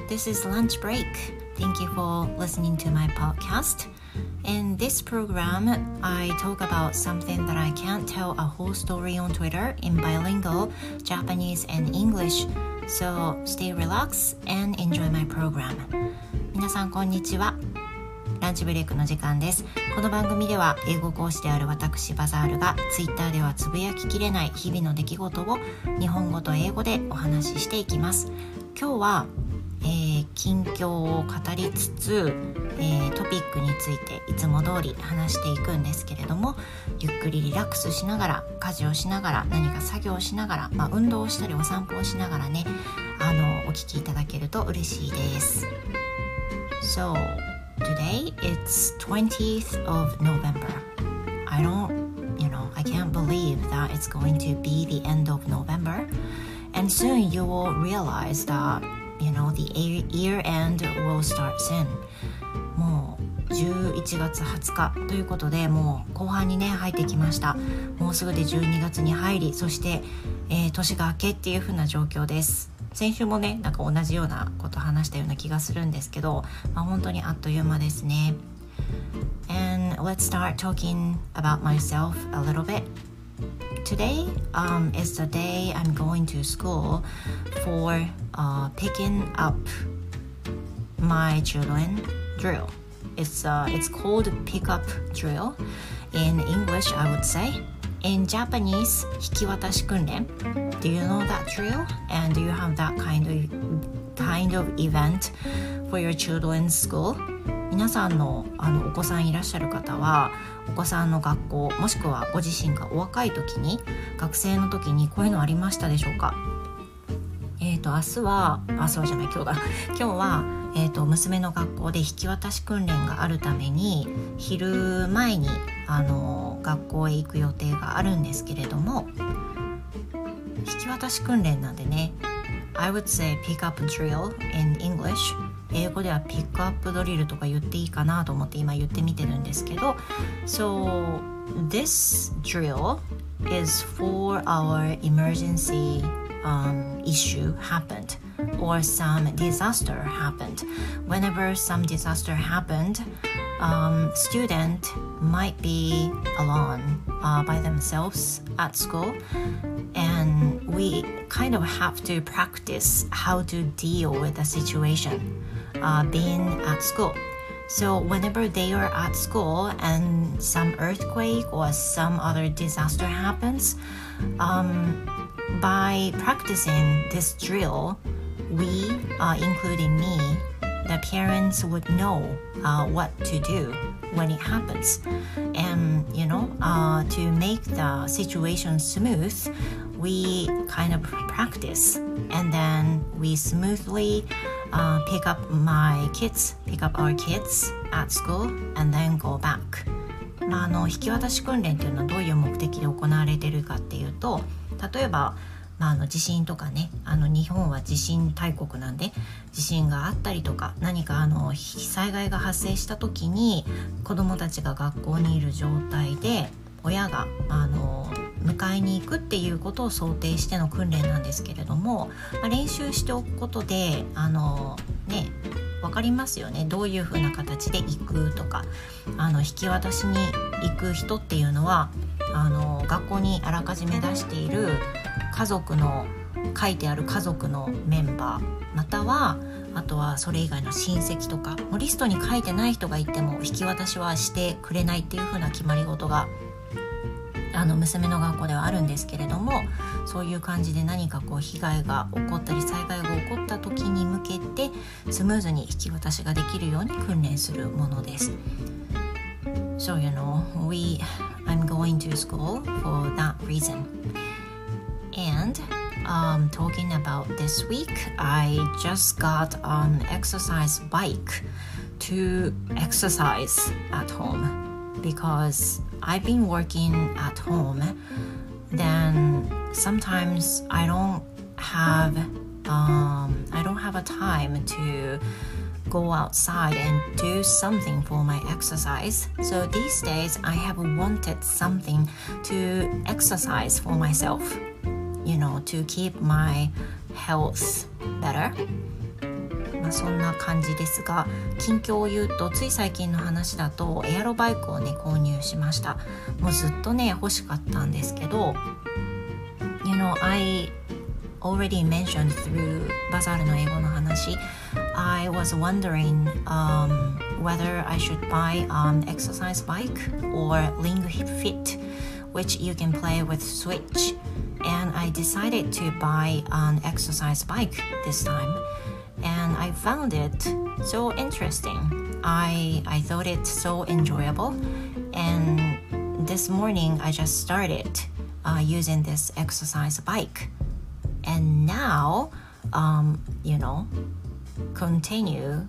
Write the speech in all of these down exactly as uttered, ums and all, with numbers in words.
This is lunch break. Thank you for listening to my podcast. In this program, I talk about something that I can't tell a whole story on Twitter in bilingual Japanese and English. So stay relaxed and enjoy my program. 皆さんこんにちは。ランチブレイクの時間です。この番組では英語講師である私バザールがツイッターではつぶやききれない日々の出来事を日本語と英語でお話ししていきます。今日は、えー、近況を語りつつ、えー、トピックについていつも通り話していくんですけれども、ゆっくりリラックスしながら、家事をしながら、何か作業をしながら、まあ、運動をしたりお散歩をしながらね、あのお聞きいただけると嬉しいです。 So today it's twentieth of November. I don't, you know, I can't believe that it's going to be the end of November. And soon you will realize that, you know, the year end will start soon. もうじゅういちがつはつかということで、もう後半にね入ってきました。もうすぐでじゅうにがつに入り、そして、えー、年が明けっていう風な状況です。先週もねなんか同じようなこと話したような気がするんですけど、まあ、本当にあっという間ですね。 And let's start talking about myself a little bit. Today um, is the day I'm going to school for uh, picking up my children drill. It's, uh, it's called pick up drill. In English, I would say.In Japanese, 引き渡し訓練 Do you know that drill? And do you have that kind of, kind of event for your children's school? 皆さんの、あのお子さんいらっしゃる方は、お子さんの学校、もしくはご自身がお若い時に、学生の時にこういうのありましたでしょうか？えっと、明日は、あ、そうじゃない、今日だ。今日は、えっと、娘の学校で引き渡し訓練があるために、昼前に、あの、学校へ行く予定があるんですけれども、引き渡し訓練なんでね、I would say pick up drill in English。英語ではピックアップドリルとか言っていいかなと思って今言ってみてるんですけど、So this drill is for our emergency um, issue happened or some disaster happened. Whenever some disaster happened, um, student might be alone uh, by themselves at school, and we kind of have to practice how to deal with the situation uh, being at school. So whenever they are at school and some earthquake or some other disaster happens, um, by practicing this drill, we, uh, including me, the parents would know uh, what to do when it happens. And, you know, uh, to make the situation smooth, we kind of practice. And then we smoothly uh, pick up my kids, pick up our kids at school, and then go back. まあ、あの引き渡し訓練っていうのはどういう目的で行われているかっていうと、例えばまあ、あの地震とかね、あの日本は地震大国なんで、地震があったりとか何かあの災害が発生した時に子どもたちが学校にいる状態で親があの迎えに行くっていうことを想定しての訓練なんですけれども、まあ、練習しておくことであのね分かりますよね。どういう風な形で行くとか、あの引き渡しに行く人っていうのはあの学校にあらかじめ出している家族の書いてある家族のメンバー、またはあとはそれ以外の親戚とか、もうリストに書いてない人がいても引き渡しはしてくれないっていう風な決まり事があの娘の学校ではあるんですけれども、そういう感じで何かこう被害が起こったり災害が起こった時に向けてスムーズに引き渡しができるように訓練するものです。So you know, we, I'm going to school for that reason. And um, talking about this week, I just got an exercise bike to exercise at home because I've been working at home. Then sometimes I don't have um, I don't have a time to go outside and do something for my exercise. So these days I have wanted something to exercise for myself, you know, to keep my health better. まあ、そんな感じですが、近況を言うとつい最近の話だとエアロバイクをね購入しました。もうずっとね欲しかったんですけど、 You know, I already mentioned through バザールの英語の話、 I was wondering、um, whether I should buy an exercise bike or Ring Fit, which you can play with Switch, and I decided to buy an exercise bike this time, and I found it so interesting. I, I thought it so enjoyable, and this morning I just started uh, using this exercise bike, and now, um, you know, continue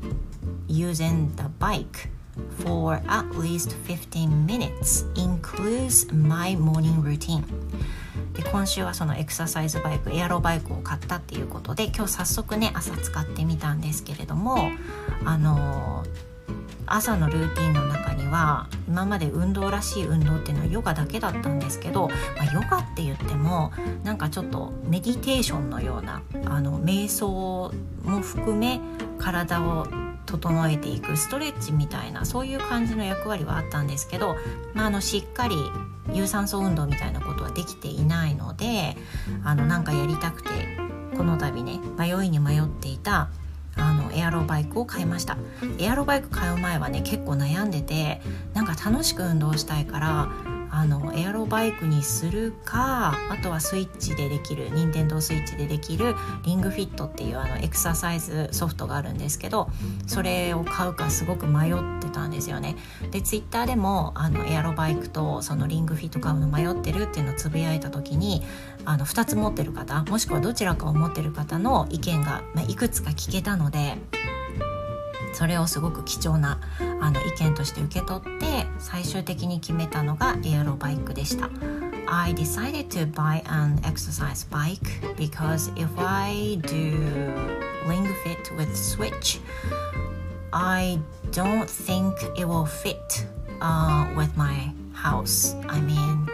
using the bike for at least fifteen minutes, includes my morning routine. で今週はそのエクササイズバイク、エアロバイクを買ったっていうことで、今日早速ね朝使ってみたんですけれども、あの朝のルーティンの中には今まで運動らしい運動っていうのはヨガだけだったんですけど、まあ、ヨガって言ってもなんかちょっとメディテーションのような、あの瞑想も含め体を整えていくストレッチみたいな、そういう感じの役割はあったんですけど、まあ、あのしっかり有酸素運動みたいなことはできていないので、あのなんかやりたくてこの度ね迷いに迷っていたあのエアロバイクを買いました。エアロバイク買う前はね結構悩んでて、なんか楽しく運動したいからあのエアロバイクにするか、あとはスイッチでできる、任天堂スイッチでできるリングフィットっていうあのエクササイズソフトがあるんですけど、それを買うかすごく迷ってたんですよね。でツイッターでもあのエアロバイクとそのリングフィット買うの迷ってるっていうのをつぶやいた時に、あのふたつ持ってる方、もしくはどちらかを持ってる方の意見が、まあ、いくつか聞けたので、それをすごく貴重なあの意見として受け取って最終的に決めたのがエアロバイクでした。 I decided to buy an exercise bike because if I do Ring Fit with Switch, I don't think it will fit、uh, with my house. I mean,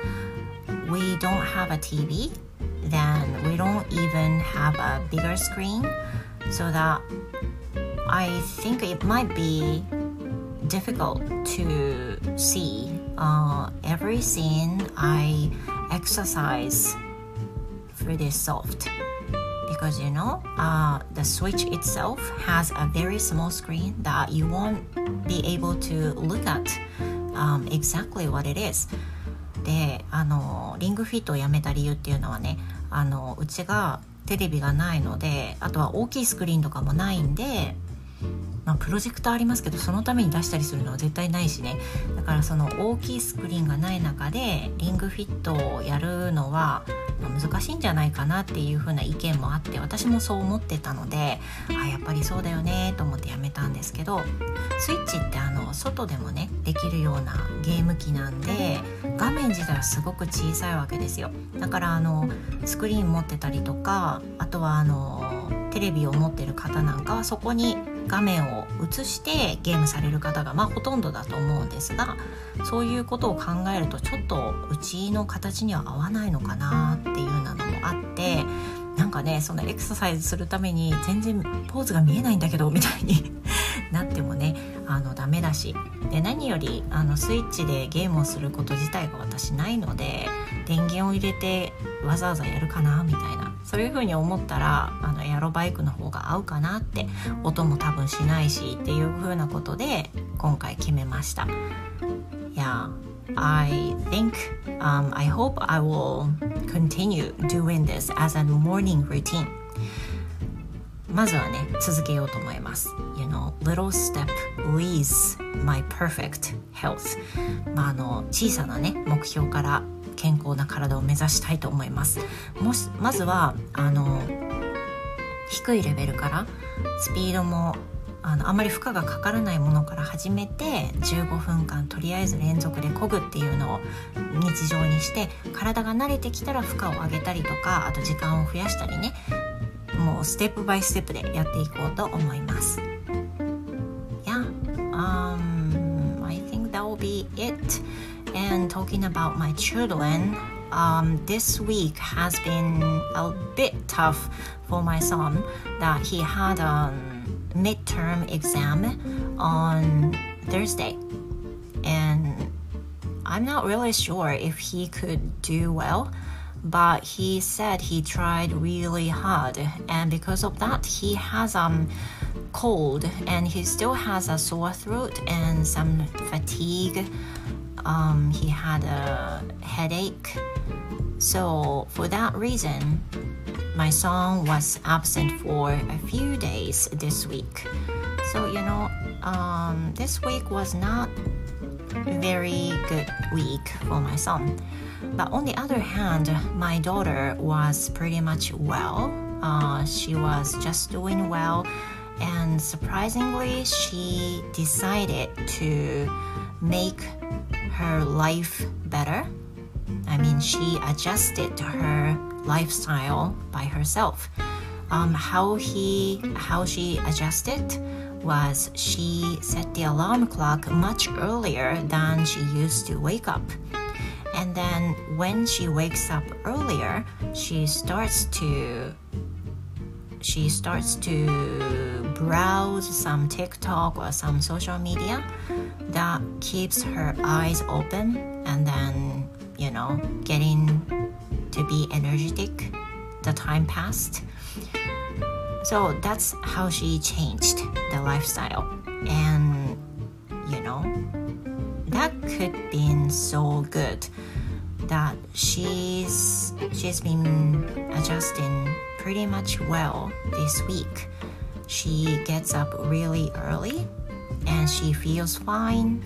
we don't have a T V, then we don't even have a bigger screen, so that I think it might be difficult to see uh, every scene I exercise through this soft, because you know uh, the Switch itself has a very small screen that you won't be able to look at、um, exactly what it is. で、あのリングフィットをやめた理由っていうのはね、あのうちがテレビがないので、あとは大きいスクリーンとかもないんで、まあ、プロジェクターありますけどそのために出したりするのは絶対ないしね。だからその大きいスクリーンがない中でリングフィットをやるのは難しいんじゃないかなっていう風な意見もあって、私もそう思ってたので、あやっぱりそうだよねと思ってやめたんですけど、スイッチってあの外でもねできるようなゲーム機なんで、画面自体はすごく小さいわけですよ。だからあのスクリーン持ってたりとか、あとはあのテレビを持ってる方なんかはそこに画面を映してゲームされる方がまあほとんどだと思うんですが、そういうことを考えるとちょっとうちの形には合わないのかなっていうなのもあって、なんかねそのエクササイズするために全然ポーズが見えないんだけどみたいになってもねあのダメだし、で何よりあのスイッチでゲームをすること自体が私ないので、電源を入れてわざわざやるかなみたいな、そういう風に思ったらあのエアロバイクの方が合うかなって、音も多分しないしっていう風なことで今回決めました。Yeah, I think、um, I hope I will continue doing this as a morning routine. まずはね続けようと思います。 You know, little step leads my perfect health. まああの小さなね目標から健康な体を目指したいと思います。もしまずはあの低いレベルからスピードもあのあまり負荷がかからないものから始めて、じゅうごふんかんとりあえず連続で漕ぐっていうのを日常にして、体が慣れてきたら負荷を上げたりとか、あと時間を増やしたりね、もうステップバイステップでやっていこうと思います。 Yeah, um, I think that will be it. And talking about my children, um, this week has been a bit tough for my son, that he had a midterm exam on Thursday, and I'm not really sure if he could do well, but he said he tried really hard, and because of that he has um cold, and he still has a sore throat and some fatigue. Um, he had a headache, so for that reason my son was absent for a few days this week. So you know, um, this week was not very good week for my son. But on the other hand, my daughter was pretty much well. Uh, she was just doing well, and surprisingly, she decided to make her life better. I mean, she adjusted her lifestyle by herself. Um, how he, how she adjusted was she set the alarm clock much earlier than she used to wake up. And then when she wakes up earlier, she starts to she starts to browse some TikTok or some social media that keeps her eyes open, and then, you know, getting to be energetic. The time passed. So that's how she changed the lifestyle. And, you know, that could been so good that she's she's been adjusting pretty much well this week. She gets up really early and she feels fine,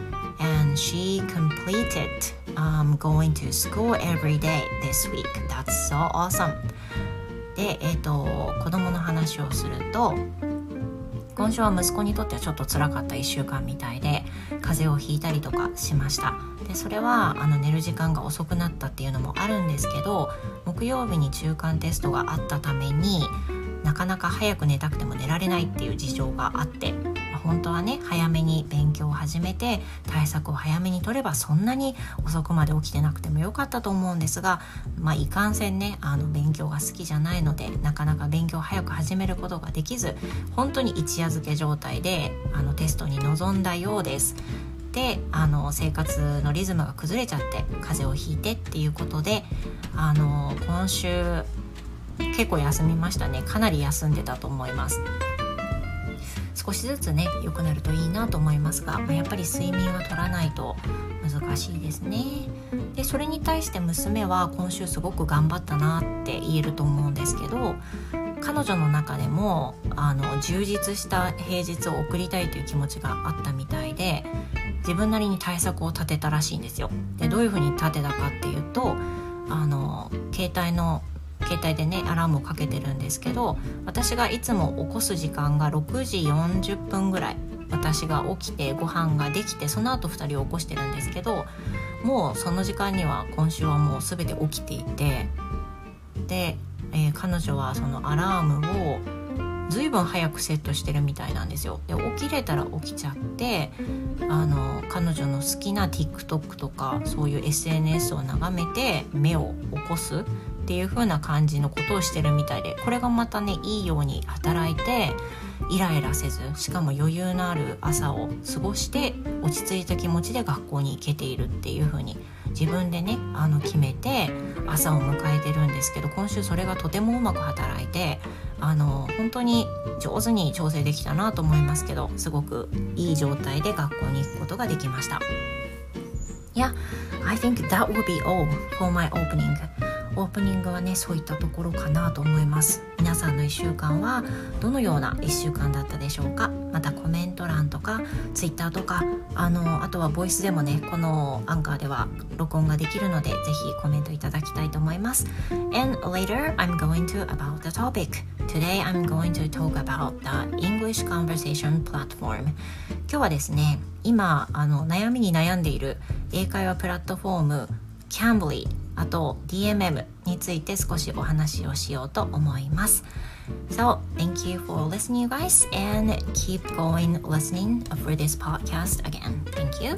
and she completed um, going to school every day this week. That's so awesome. で、えーと、子供の話をすると、今週は息子にとってはちょっと辛かったいっしゅうかんみたいで、風邪をひいたりとかしました。でそれはあの寝る時間が遅くなったっていうのもあるんですけど、木曜日に中間テストがあったためになかなか早く寝たくても寝られないっていう事情があって、本当はね早めに勉強を始めて対策を早めに取ればそんなに遅くまで起きてなくてもよかったと思うんですが、まあいかんせんね、あの勉強が好きじゃないのでなかなか勉強を早く始めることができず、本当に一夜漬け状態であのテストに臨んだようです。で、あの生活のリズムが崩れちゃって風邪をひいてっていうことで、あの今週結構休みましたね。かなり休んでたと思います。少しずつね良くなるといいなと思いますが、まあ、やっぱり睡眠は取らないと難しいですね。でそれに対して娘は今週すごく頑張ったなって言えると思うんですけど、彼女の中でもあの充実した平日を送りたいという気持ちがあったみたいで、自分なりに対策を立てたらしいんですよ。でどういうふうに立てたかっていうと、あの携帯の携帯でねアラームをかけてるんですけど、私がいつも起こす時間がろくじよんじゅっぷんぐらい、私が起きてご飯ができてその後ふたりを起こしてるんですけど、もうその時間には今週はもう全て起きていて、で、えー、彼女はそのアラームをずいぶん早くセットしてるみたいなんですよ。で起きれたら起きちゃって、あの彼女の好きな TikTok とかそういう エスエヌエス を眺めて目を起こすっていう風な感じのことをしてるみたいで、これがまたねいいように働いて、イライラせず、しかも余裕のある朝を過ごして落ち着いた気持ちで学校に行けているっていう風に自分でねあの決めて朝を迎えてるんですけど、今週それがとてもうまく働いて、あの本当に上手に調整できたなと思いますけど、すごくいい状態で学校に行くことができました。Yeah, I think that will be all for my opening. オープニングはねそういったところかなと思います。皆さんのいっしゅうかんはどのようないっしゅうかんだったでしょうか。またコメント欄とかツイッターとか、あのあとはボイスでもねこのアンカーでは録音ができるので、ぜひコメントいただきたいと思います。 And later I'm going to about the topic. Today I'm going to talk about the English conversation platform. 今日はですね、今あの悩みに悩んでいる英会話プラットフォーム Cambly、あと ディーエムエム について少しお話をしようと思います。So, thank you for listening, you guys, and keep going listening for this podcast again. Thank you.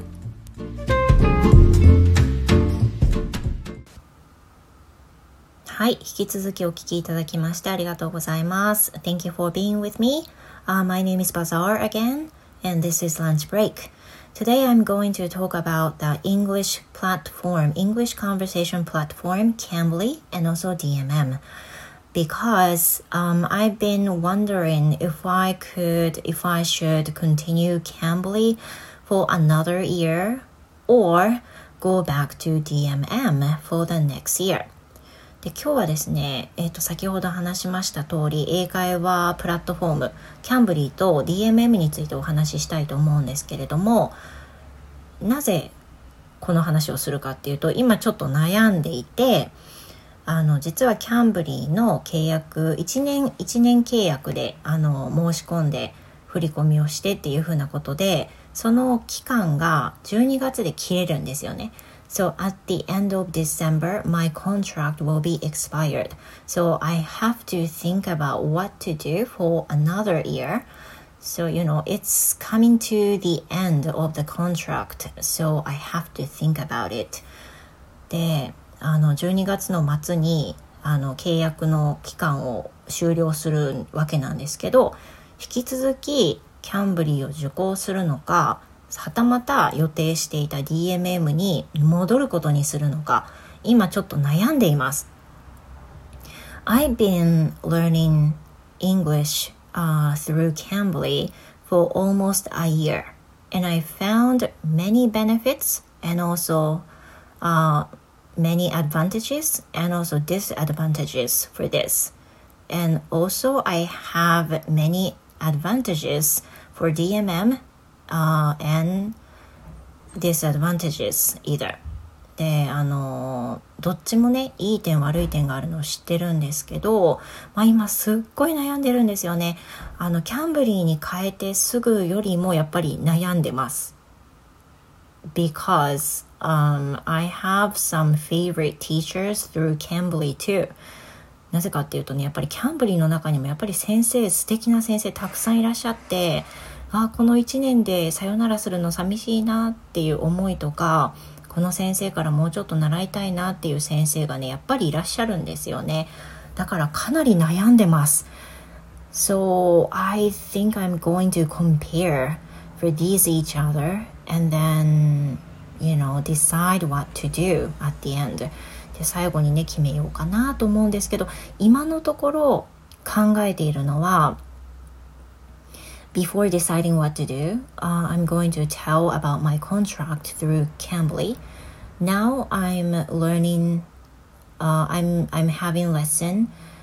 はい、引き続きお聞きいただきましてありがとうございます。Thank you for being with me. Uh, my name is Bazaar again, and this is Lunch Break. Today I'm going to talk about the English platform, English conversation platform, Cambly, and also D M M. Because um, I've been wondering if I could, if I should continue Cambly for another year or go back to D M M for the next year. で今日はですね、えーと、先ほど話しました通り、英会話プラットフォーム、Camblyと ディーエムエム についてお話ししたいと思うんですけれども、なぜこの話をするかっていうと、今ちょっと悩んでいて、あの実はキャンブリーの契約いちねんいちねん契約であの申し込んで振り込みをしてっていう風なことで、その期間がじゅうにがつで切れるんですよね。So at the end of December, my contract will be expired. So I have to think about what to do for another year. So you know, it's coming to the end of the contract. So I have to think about it. であのじゅうにがつの末にあの契約の期間を終了するわけなんですけど、引き続きキャンブリーを受講するのか、はたまた予定していた ディーエムエム に戻ることにするのか、今ちょっと悩んでいます。I've been learning English、uh, through Cambly for almost a year, and I found many benefits and also、uh, many advantages and also disadvantages for this. And also I have many advantages for ディーエムエム、uh, and disadvantages either. で、あのどっちもね、いい点悪い点があるのを知ってるんですけど、まあ、今すっごい悩んでるんですよね。あのキャンブリーに変えてすぐよりもやっぱり悩んでます。Because、um, I have some favorite teachers through Cambly too. なぜかっていうとね、やっぱりキャンブリーの中にもやっぱり先生、素敵な先生たくさんいらっしゃって、あ、このいちねんでさよならするの寂しいなっていう思いとか、この先生からもうちょっと習いたいなっていう先生がね、やっぱりいらっしゃるんですよね。だからかなり悩んでます。So I think I'm going to compare for these each other.And then, you know, decide what to do at the end. で、最後にね、決めようかなと思うんですけど、今のところ考えているのは、Before deciding what to do,、uh, I'm going to tell about my contract through Cambly. Now I'm learning,、uh, I'm, I'm having lesson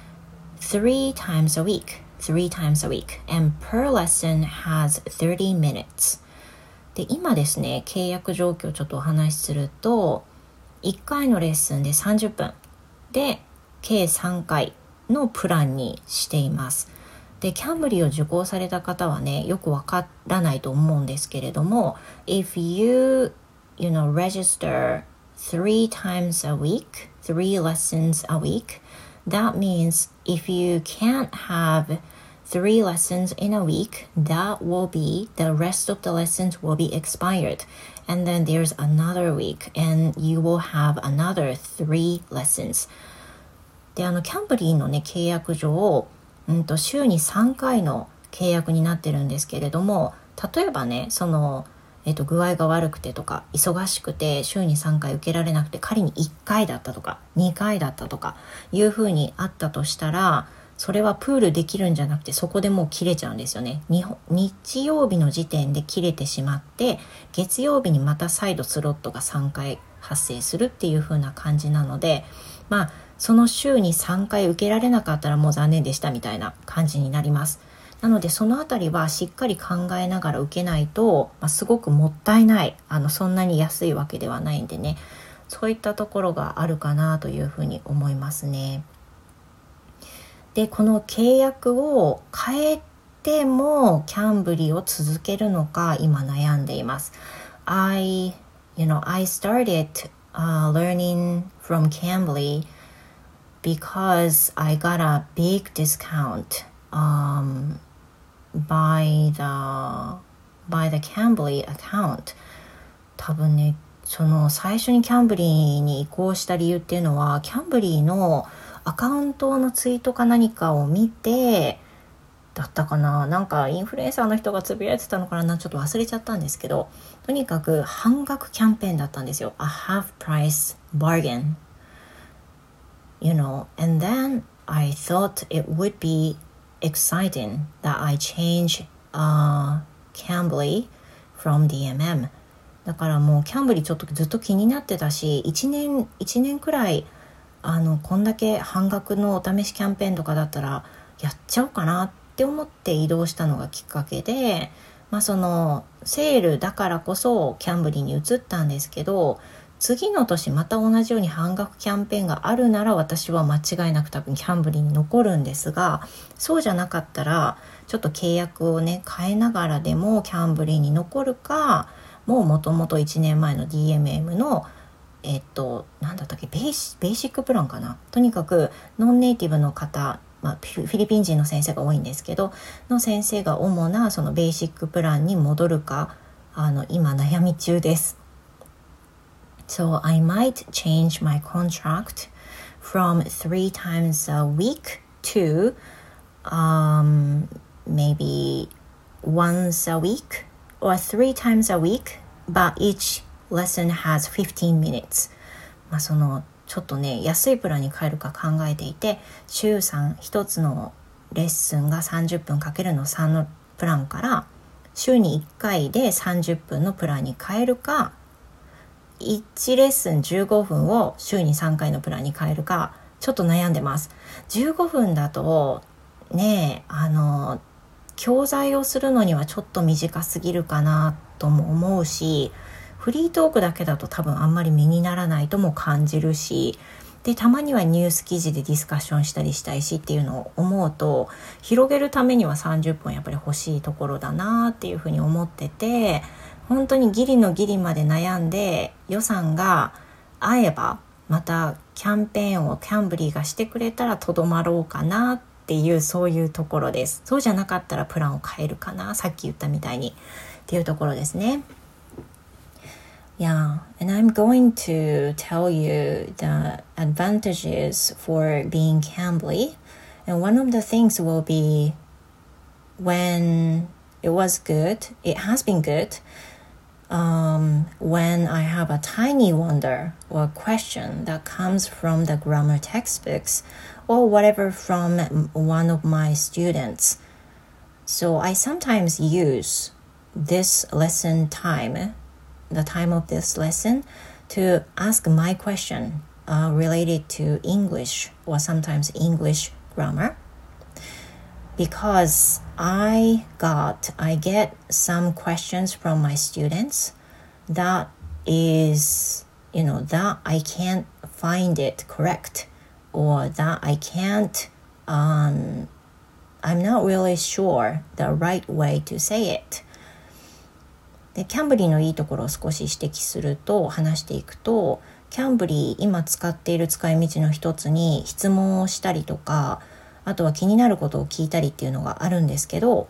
three times a week. Three times a week. And per lesson has thirty minutes.で今ですね、契約状況をちょっとお話しすると、いっかいのレッスンでさんじゅっぷんで計さんかいのプランにしています。でキャンブリーを受講された方はね、よくわからないと思うんですけれども、 If you, you know, register three times a week, three lessons a week, that means if you can't have three lessons in a week, that will be, the rest of the lessons will be expired. And then there's another week and you will have another three lessons. で、あの、キャンブリーのね、契約上、うんと、週にさんかいの契約になってるんですけれども、例えばね、その、えっと、具合が悪くてとか、忙しくて週にさんかい受けられなくて、仮にいっかいだったとか、にかいだったとか、いうふうにあったとしたら、それはプールできるんじゃなくて、そこでもう切れちゃうんですよね。日, 日曜日の時点で切れてしまって、月曜日にまた再度スロットがさんかい発生するっていう風な感じなので、まあその週にさんかい受けられなかったらもう残念でしたみたいな感じになります。なのでそのあたりはしっかり考えながら受けないと、まあ、すごくもったいない、あのそんなに安いわけではないんでね、そういったところがあるかなというふうに思いますね。で、この契約を変えてもキャンブリーを続けるのか今悩んでいます。I, you know, I started、uh, learning from Cambly because I got a big discount、um, by the by the Cambly account. 多分ね、その最初にキャンブリーに移行した理由っていうのは、キャンブリーのアカウントのツイートか何かを見て、 だったかな、なんかインフルエンサーの人がつぶやいてたのかな、ちょっと忘れちゃったんですけど、とにかく半額キャンペーンだったんですよ。 A half price bargain, you know, and then I thought it would be exciting that I change uh, Cambly from ディーエムエム。 だからもうキャンブリちょっとずっと気になってたし、いちねんいちねんくらいあのこんだけ半額のお試しキャンペーンとかだったらやっちゃおうかなって思って移動したのがきっかけで、まあそのセールだからこそキャンブリに移ったんですけど、次の年また同じように半額キャンペーンがあるなら私は間違いなく多分キャンブリに残るんですが、そうじゃなかったらちょっと契約をね変えながらでもキャンブリに残るか、もうもともといちねんまえの ディーエムエム のえっとなんだったっけ、ベーシ、ベーシックプランかな、とにかくノンネイティブの方、まあ、フィリピン人の先生が多いんですけどの先生が主なそのベーシックプランに戻るか、あの今悩み中です。 So I might change my contract from three times a week to um, maybe once a week or three times a week, but each lesson has fifteen minutes。 まあそのちょっとね安いプランに変えるか考えていて、週さん、一つのレッスンがさんじゅっぷんかけるのさんのプランから週にいっかいでさんじゅっぷんのプランに変えるか、いちレッスンじゅうごふんを週にさんかいのプランに変えるか、ちょっと悩んでます。じゅうごふんだとね、あの教材をするのにはちょっと短すぎるかなとも思うし、フリートークだけだと多分あんまり身にならないとも感じるし、でたまにはニュース記事でディスカッションしたりしたいしっていうのを思うと、広げるためにはさんじゅっぷんやっぱり欲しいところだなっていうふうに思ってて、本当にギリのギリまで悩んで予算が合えばまたキャンペーンをキャンブリーがしてくれたらとどまろうかなっていう、そういうところです。そうじゃなかったらプランを変えるかな、さっき言ったみたいにっていうところですね。Yeah, and I'm going to tell you the advantages for being Cambly. And one of the things will be when it was good, it has been good, um, when I have a tiny wonder or question that comes from the grammar textbooks or whatever from one of my students. So I sometimes use this lesson time, the time of this lesson, to ask my question uh, related to English or sometimes English grammar, because I got I get some questions from my students that is, you know, that I can't find it correct, or that I can't um, I'm not really sure the right way to say it。でキャンブリーのいいところを少し指摘すると、話していくと、キャンブリー今使っている使い道の一つに質問をしたりとか、あとは気になることを聞いたりっていうのがあるんですけど、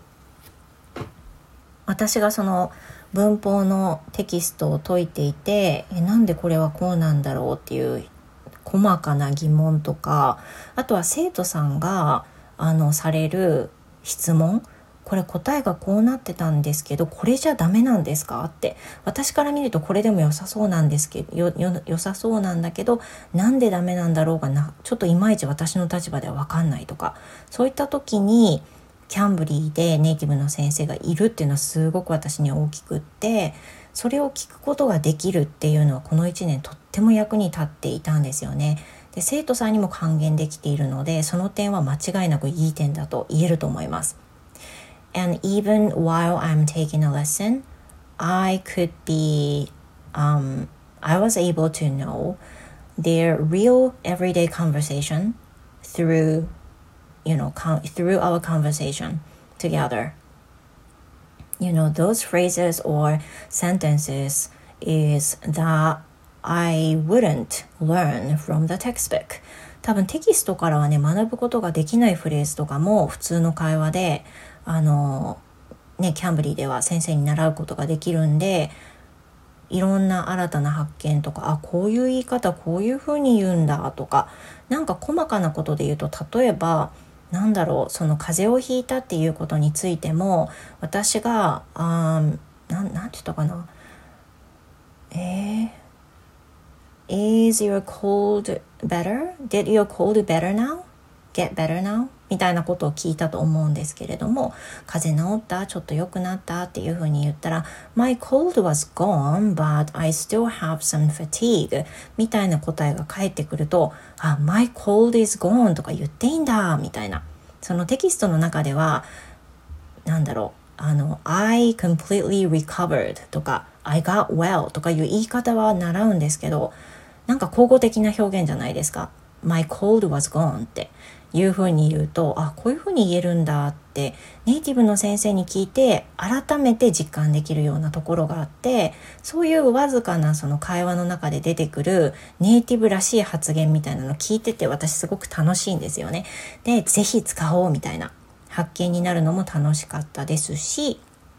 私がその文法のテキストを解いていて、えなんでこれはこうなんだろうっていう細かな疑問とか、あとは生徒さんがあのされる質問、これ答えがこうなってたんですけどこれじゃダメなんですかって、私から見るとこれでも良さそうなんですけどよよ良さそうなんだけどなんでダメなんだろうがな、ちょっといまいち私の立場では分かんないとか、そういった時にキャンブリーでネイティブの先生がいるっていうのはすごく私には大きくって、それを聞くことができるっていうのはこのいちねんとっても役に立っていたんですよね。で生徒さんにも還元できているので、その点は間違いなくいい点だと言えると思います。And even while I'm taking a lesson, I could be, um, I was able to know their real everyday conversation through, you know, con- through our conversation together. You know, those phrases or sentences is that I wouldn't learn from the textbook. 多分テキストからはね、学ぶことができないフレーズとかも普通の会話であのね、キャンブリーでは先生に習うことができるんで、いろんな新たな発見とか、あ、こういう言い方こういう風に言うんだとか、なんか細かなことで言うと、例えばなんだろう、その風邪をひいたっていうことについても、私があな, なんて言ったかな、えー、Is your cold better? Did your cold better now? Get better now? みたいなことを聞いたと思うんですけれども、風邪治った？ちょっと良くなった？っていうふうに言ったら My cold was gone, but I still have some fatigue みたいな答えが返ってくると、あ、My cold is gone とか言っていいんだみたいな。そのテキストの中ではなんだろう、あの I completely recovered とか I got well とかいう言い方は習うんですけど、なんか口語的な表現じゃないですか。My cold was gone っていうふうに言うと、あ、こういうふうに言えるんだってネイティブの先生に聞いて改めて実感できるようなところがあって、そういうわずかなその会話の中で出てくるネイティブらしい発言みたいなのを聞いてて、私すごく楽しいんですよね。で、ぜひ使おうみたいな発見になるのも楽しかったですし、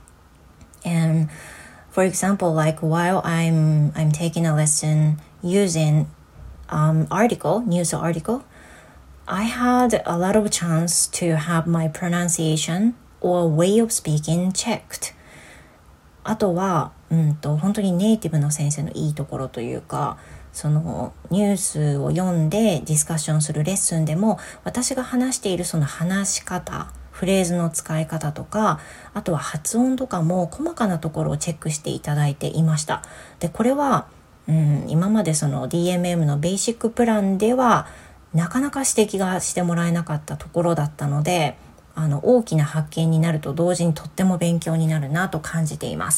and for example, like while I'm I'm taking a lesson using um article, news article, I had a lot of chance to have my pronunciation or way of speaking checked. あとは、うんと、本当にネイティブの先生のいいところというか、そのニュースを読んでディスカッションするレッスンでも、私が話しているその話し方、フレーズの使い方とか、あとは発音とかも細かなところをチェックしていただいていました。で、これは、うん、今までその ディーエムエム のベーシックプランではなかなか指摘がしてもらえなかったところだったので、あの大きな発見になると同時にとっても勉強になるなと感じています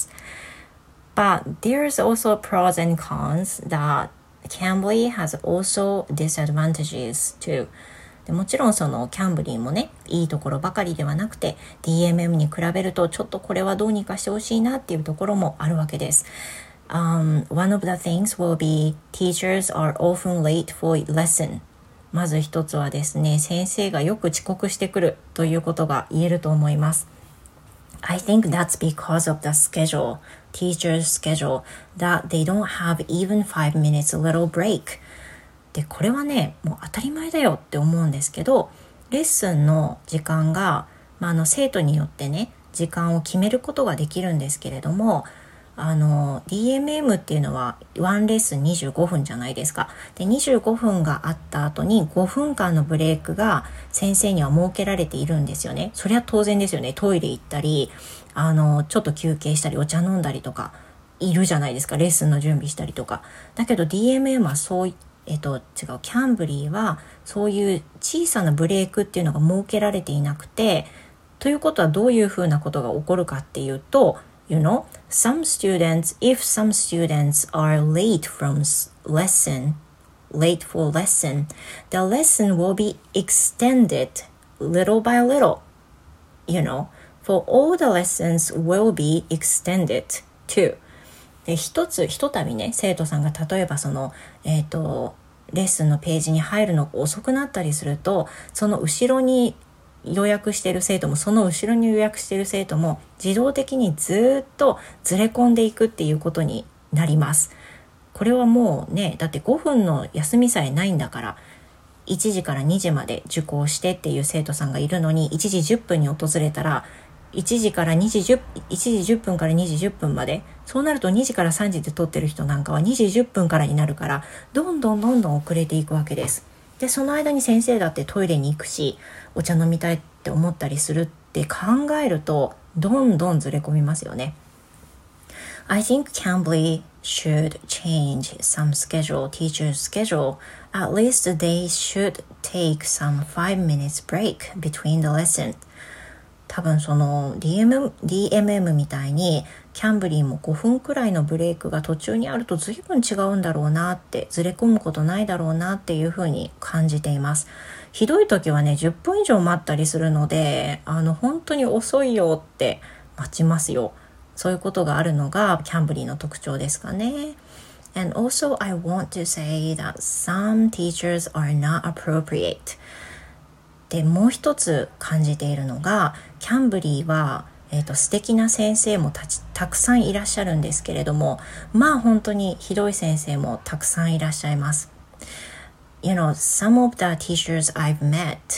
。But there's also pros and cons that Cambly has also disadvantages too. でもちろんそのキャンブリーもね、いいところばかりではなくて ディーエムエム に比べるとちょっとこれはどうにかしてほしいなっていうところもあるわけです。Um, one of the things will be teachers are often late for lesson. まず一つはですね、先生がよく遅刻してくるということが言えると思います。I think that's because of the schedule, teacher's schedule, that they don't have even five minutes little break. で、これはね、もう当たり前だよって思うんですけど、レッスンの時間が、まあ、あの生徒によってね、時間を決めることができるんですけれども、あの ディーエムエム っていうのはワンレッスンにじゅうごふんじゃないですか。で、にじゅうごふんがあった後にごふんかんのブレイクが先生には設けられているんですよね。それは当然ですよね。トイレ行ったり、あのちょっと休憩したりお茶飲んだりとかいるじゃないですか。レッスンの準備したりとか。だけど ディーエムエム はそうえっと違うキャンブリーはそういう小さなブレイクっていうのが設けられていなくて、ということはどういうふうなことが起こるかっていうと、You know, some students, if some students are late from lesson, late for lesson, the lesson will be extended little by little. You know, for all the lessons will be extended too. で、一つ、一たびね、生徒さんが例えばその、えっと、レッスンのページに入るのが遅くなったりすると、その後ろに予約している生徒もその後ろに予約している生徒も自動的にずっとずれ込んでいくっていうことになります。これはもうね、だってごふんの休みさえないんだから、いちじからにじまで受講してっていう生徒さんがいるのに、いちじじゅっぷんに訪れたらいちじからにじじゅっぷんからにじじゅっぷんまで、そうなるとにじからさんじで取ってる人なんかはにじじゅっぷんからになるから、どんどんどんどん遅れていくわけです。で、その間に先生だってトイレに行くし、お茶飲みたいって思ったりするって考えると、どんどんずれ込みますよね。I think Cambly should change some schedule, teacher's schedule. At least they should take some five minutes break between the lesson. 多分その ディーエムエム、ディーエムエム みたいにキャンブリーもごふんくらいのブレイクが途中にあると随分違うんだろうなって、ずれ込むことないだろうなっていうふうに感じています。ひどい時はね、じゅっぷん以上待ったりするので、あの本当に遅いよって待ちますよ。そういうことがあるのがキャンブリーの特徴ですかね。And also I want to say that some teachers are not appropriate. で、もう一つ感じているのが、キャンブリーは、えーと、素敵な先生も た, たくさんいらっしゃるんですけれども、まあ本当にひどい先生もたくさんいらっしゃいます。You know, some of the teachers I've met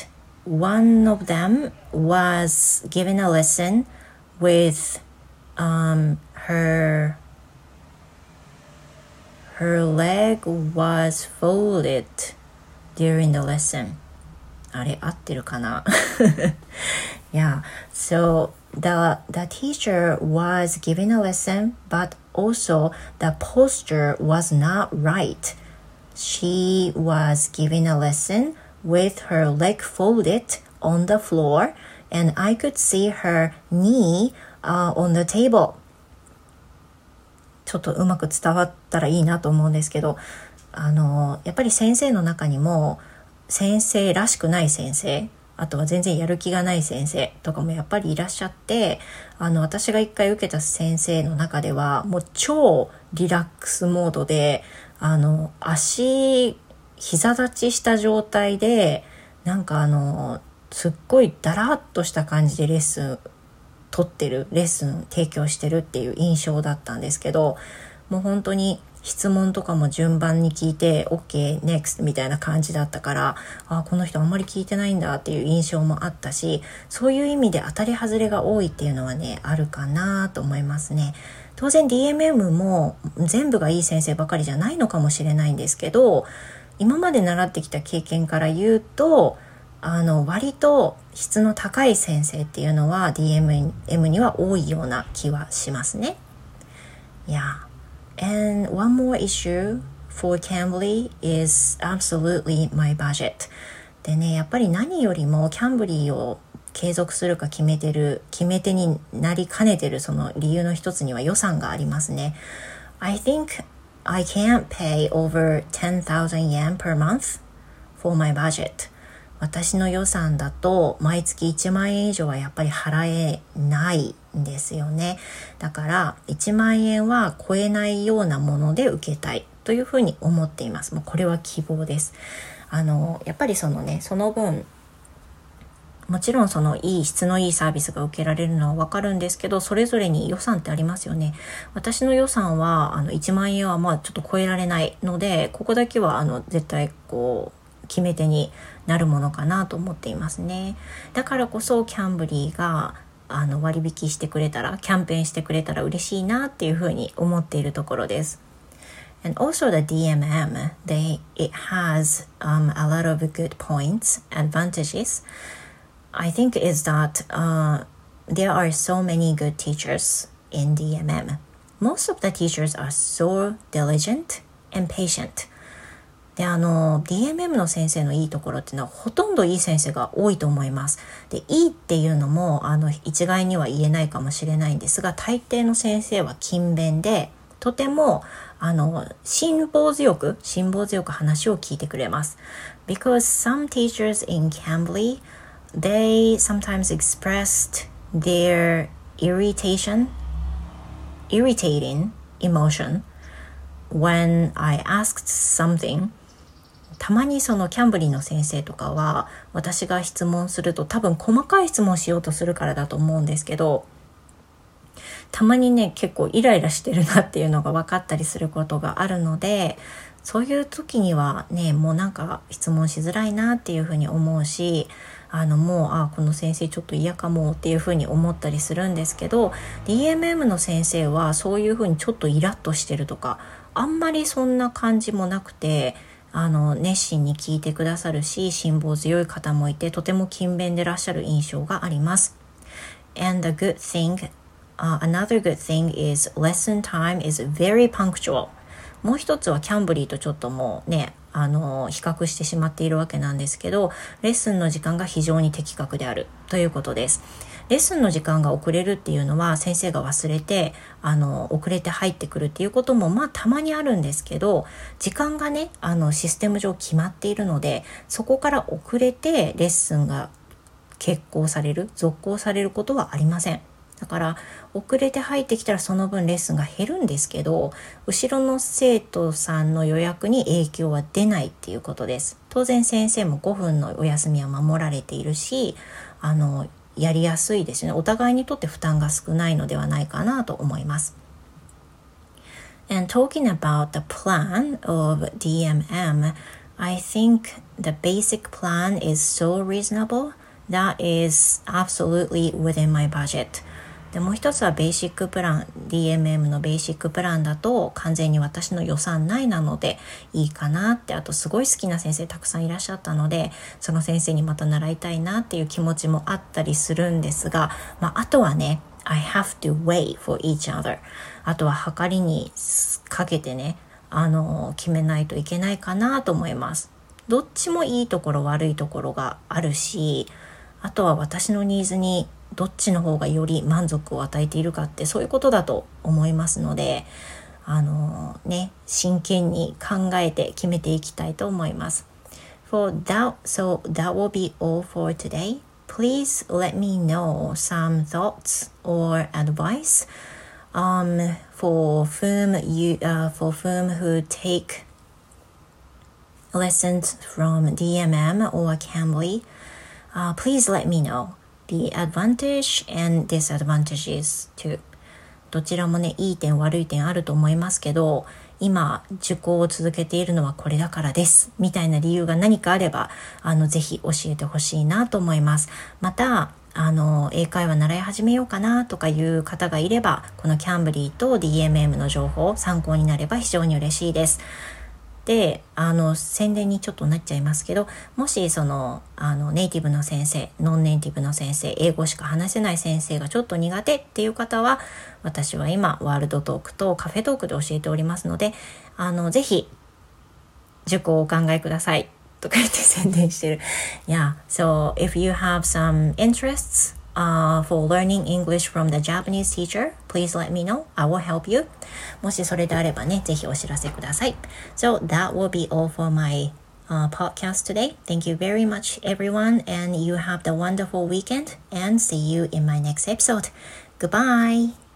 one of them was given a lesson with um, her her leg was folded during the lesson. あれ合ってるかなYeah, so the, the teacher was giving a lesson, but also the posture was not right. She was giving a lesson with her leg folded on the floor, and I could see her knee、uh, on the table. ちょっとうまく伝わったらいいなと思うんですけど、あのやっぱり先生の中にも先生らしくない先生、あとは全然やる気がない先生とかもやっぱりいらっしゃって、あの私が一回受けた先生の中ではもう超リラックスモードで、あの足膝立ちした状態でなんかあのすっごいダラッとした感じでレッスン取ってる、レッスン提供してるっていう印象だったんですけど、もう本当に質問とかも順番に聞いて OK next みたいな感じだったから、あ、この人あんまり聞いてないんだっていう印象もあったし、そういう意味で当たり外れが多いっていうのはねあるかなと思いますね。当然 ディーエムエム も全部がいい先生ばかりじゃないのかもしれないんですけど、今まで習ってきた経験から言うと、あの割と質の高い先生っていうのは ディーエムエム には多いような気はしますね。Yeah.And one more issue for Cambly is absolutely my budget. でね、やっぱり何よりもキャンブリーを継続するか決めてる、決め手になりかねてるその理由の一つには予算がありますね。I think I can't pay over ten thousand yen per month for my budget. 私の予算だと毎月いちまんえん以上はやっぱり払えないんですよね。だからいちまんえんは超えないようなもので受けたいというふうに思っています。もうこれは希望です。あのやっぱりそのね、その分もちろんそのいい質のいいサービスが受けられるのはわかるんですけど、それぞれに予算ってありますよね。私の予算はあのいちまんえんはまあちょっと超えられないので、ここだけはあの絶対こう決め手になるものかなと思っていますね。だからこそキャンブリーがあの割引してくれたら、キャンペーンしてくれたら嬉しいなっていうふうに思っているところです。And also the ディーエムエム, they, it has um, a lot of good points, advantages. I think is that uh, there are so many good teachers in ディーエムエム. Most of the teachers are so diligent and patient.であの ディーエムエム の先生のいいところっていうのはほとんどいい先生が多いと思います。でいいっていうのもあの一概には言えないかもしれないんですが、大抵の先生は勤勉でとてもあの辛抱強く辛抱強く話を聞いてくれます。Because some teachers in Cambly, they sometimes expressed their irritation, irritating emotion when I asked something.たまにそのキャンブリーの先生とかは私が質問すると多分細かい質問しようとするからだと思うんですけど、たまにね結構イライラしてるなっていうのが分かったりすることがあるので、そういう時にはねもうなんか質問しづらいなっていうふうに思うし、あのもうあこの先生ちょっと嫌かもっていうふうに思ったりするんですけど、 ディーエムエム の先生はそういうふうにちょっとイラッとしてるとかあんまりそんな感じもなくて、あの熱心に聞いてくださるし、辛抱強い方もいてとても勤勉でいらっしゃる印象があります。 And the good thing、uh, another good thing is lesson time is very punctual. もう一つはキャンブリーとちょっともうねあの比較してしまっているわけなんですけど、レッスンの時間が非常に的確であるということです。レッスンの時間が遅れるっていうのは先生が忘れてあの遅れて入ってくるっていうこともまあたまにあるんですけど、時間がねあのシステム上決まっているので、そこから遅れてレッスンが決行される続行されることはありません。だから遅れて入ってきたらその分レッスンが減るんですけど、後ろの生徒さんの予約に影響は出ないっていうことです。当然先生もごふんのお休みは守られているし、あのやりやすいですね。お互いにとって負担が少ないのではないかなと思います。And talking about the plan of ディーエムエム, I think the basic plan is so reasonable that is absolutely within my budget。でもう一つはベーシックプラン ディーエムエム のベーシックプランだと完全に私の予算内なのでいいかなって、あとすごい好きな先生たくさんいらっしゃったのでその先生にまた習いたいなっていう気持ちもあったりするんですが、まあ、あとはね I have to weigh for each other。 あとは測りにかけてねあの決めないといけないかなと思います。どっちもいいところ悪いところがあるし、あとは私のニーズにどっちの方がより満足を与えているかってそういうことだと思いますので、あのね真剣に考えて決めていきたいと思います。For that, so that will be all for today. Please let me know some thoughts or advice um, for whom you, uh, for whom who take lessons from ディーエムエム or Cambly.Uh, please let me know the advantage and disadvantages too。 どちらもねいい点悪い点あると思いますけど、今受講を続けているのはこれだからですみたいな理由が何かあればあのぜひ教えてほしいなと思います。またあの英会話習い始めようかなとかいう方がいればこのキャンブリーと ディーエムエム の情報参考になれば非常に嬉しいです。であの宣伝にちょっとなっちゃいますけど、もしそのあのネイティブの先生ノンネイティブの先生英語しか話せない先生がちょっと苦手っていう方は私は今ワールドトークとカフェトークで教えておりますので、あのぜひ受講をお考えくださいとか言って宣伝してる。Yeah, so if you have some interests、uh, for learning English from the Japanese teacher, please let me know. I will help you. もしそれであればね、ぜひお知らせください。So that will be all for my、uh, podcast today. Thank you very much, everyone, and you have the wonderful weekend. And see you in my next episode. Goodbye.